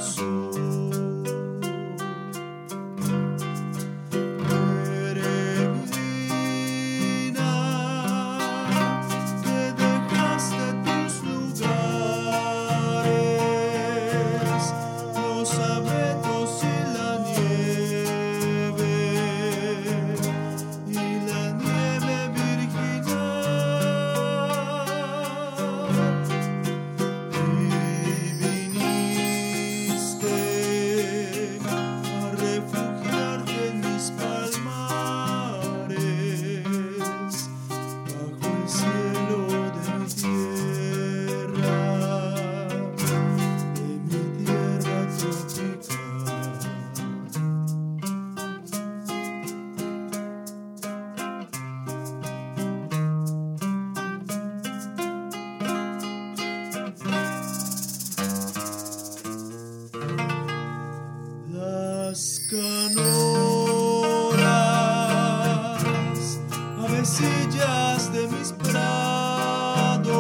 canoras, avecillas de mis prados,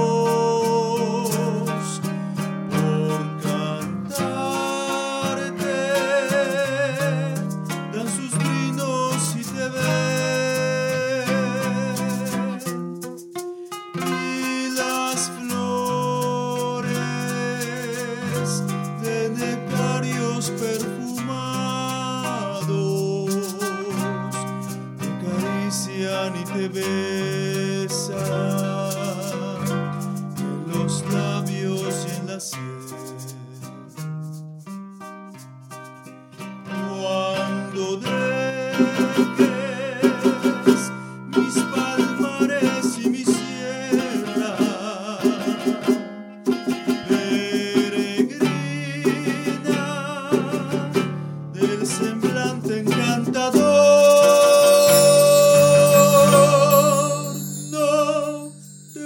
por cantarte dan sus trinos y te ven, y las flores de nectarios perfumados te acarician y te besan en los labios y en la sien. Cuando dejes mis palmares y mi sierra, peregrina del semblante encantador, no te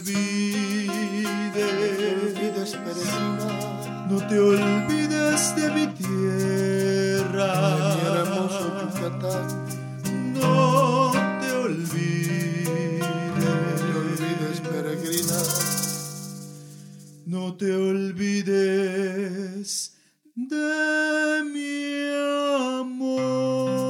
olvides, peregrina, no te olvides de mi tierra, de mi hermoso Yucatán. no te olvides, Peregrina, no te olvides de mi amor.